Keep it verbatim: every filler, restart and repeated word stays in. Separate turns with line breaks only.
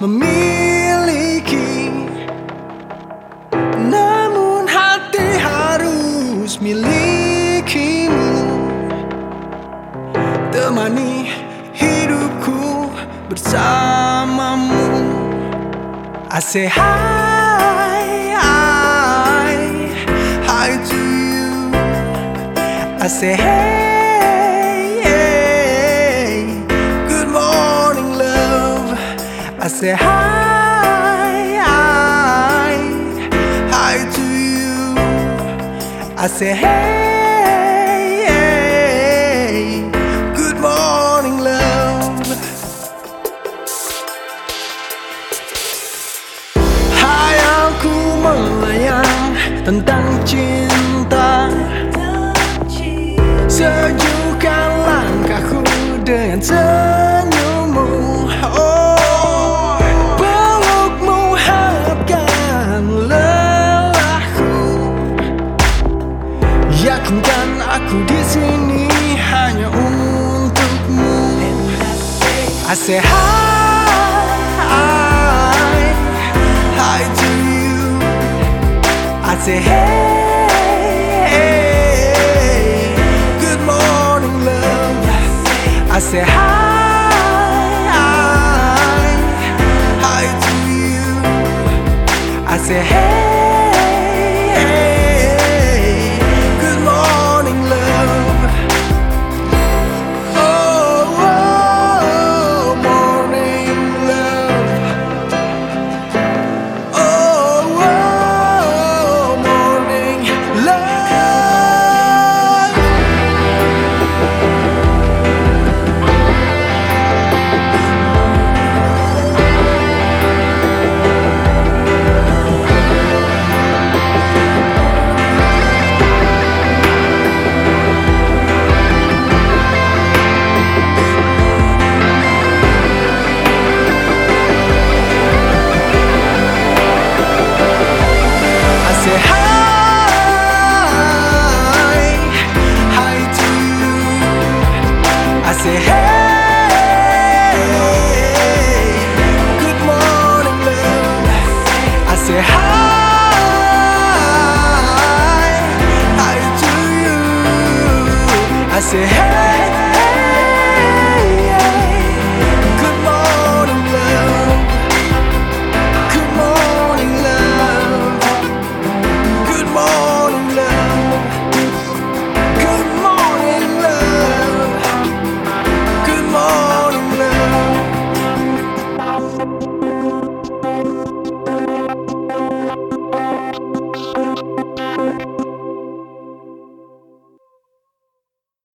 memiliki, namun hati harus milikimu. Temani hidupku bersamamu. I say hi, hi, hi to you. I say hey, hey, good morning love. I say hi, hi, hi to you. I say hey, hey, good morning love. Hai, aku melayang tentang cinta. Sejukkan langkahku dengan senyummu. Oh, pelukmu hangatkan lelahku. Yakinkan aku di sini hanya untukmu. I say hi, hi, hi to you. I say hey, good morning love. I say hi, hi, hi to you. I say hey, good morning love. Oh, oh, morning love. Oh, oh, morning love. I say hi, hi to you. I say hey, good morning love. I say hi, hi to you. I say hey.